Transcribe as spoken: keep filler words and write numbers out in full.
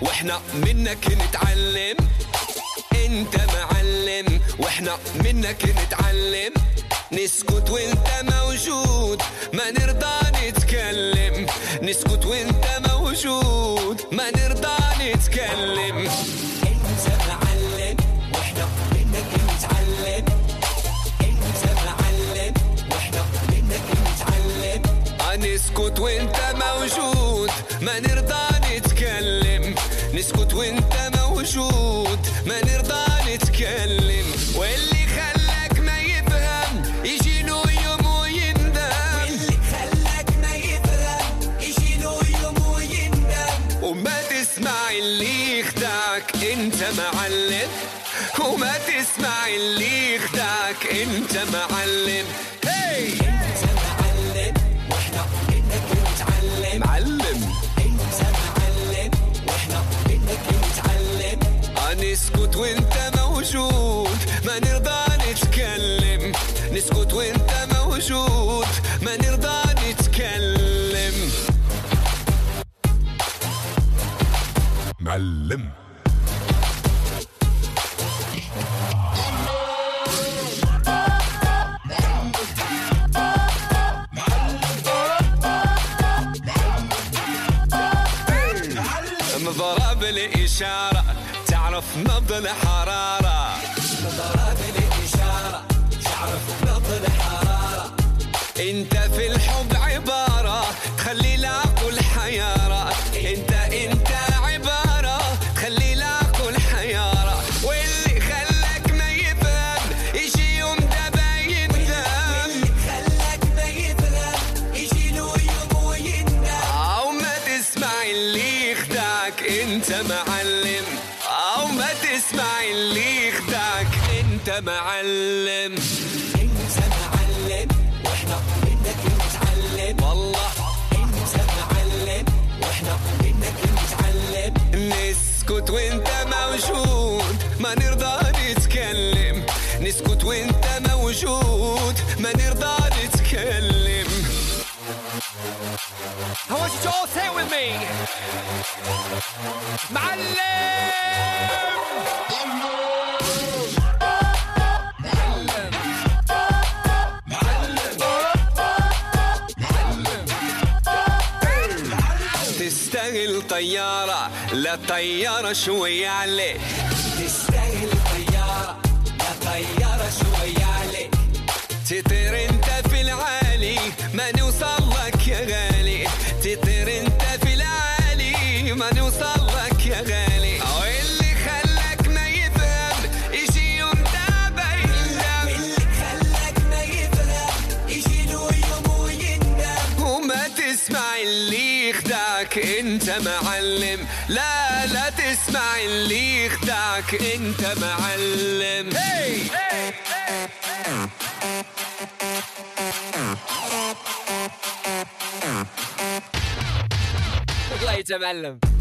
واحنا منك نتعلم. انت معلم واحنا منك نتعلم. نسكت وانت موجود ما نرضى نتكلم. نسكت وانت موجود ما نرضى نتكلم. انت معلم واحنا منك نتعلم. انت معلم واحنا منك نتعلم. نسكت وانت موجود ما نرضى نتكلم. نسكت وانت موجود ما نرضى نتكلم. واللي خلاك ما يفهم يجي له يوم ويندم. واللي خلاك ما يفهم يجي له يوم ويندم. وما تسمع اللي يخدعك انت معلم. وما تسمع اللي يخدعك انت معلم. هي انت معلم واحنا منك نتعلم. معلم انت معلم واحنا منك نتعلم. نسكت وانت موجود ما نرضى نتكلم. نسكت وانت موجود ما نرضى نتكلم. معلم مضرب الإشارة تعرف نبض الحرارة. مضرب الإشارة تعرف نبض الحرارة. انت في الحب عبارة تخلي العقل حيارة. انت انت عبارة تخلي العقل حيارة. واللي خلاك ما يفهم يجي يوم دابا يندم. واللي خلاك ما يفهم يجي له يوم ويندم. او ما تسمع اللي يخدعك انت معلم. او ما تسمع اللي يخدعك انت معلم. انت معلم واحنا منك نتعلم. والله انت معلم واحنا منك نتعلم. نسكت وانت موجود ما نرضى نتكلم. نسكت وانت موجود ما نرضى نتكلم. I want you to all say it with me. معلم تستاهل طيارة لا طيارة شوية عليك. تستاهل طيارة لا طيارة شوية عليك. تطير انت في العالي ما نوصل لك يا غالي. تطير انت في العالي ما نوصل لك يا غالي. واللي خلاك ما يفهم يجي يوم دابا يندم. واللي خلاك ما يفهم يجي له يوم ويندم. وما تسمع اللي يخدعك انت معلم. لا لا تسمع اللي يخدعك انت معلم. hey! hey! طلعت يا معلم.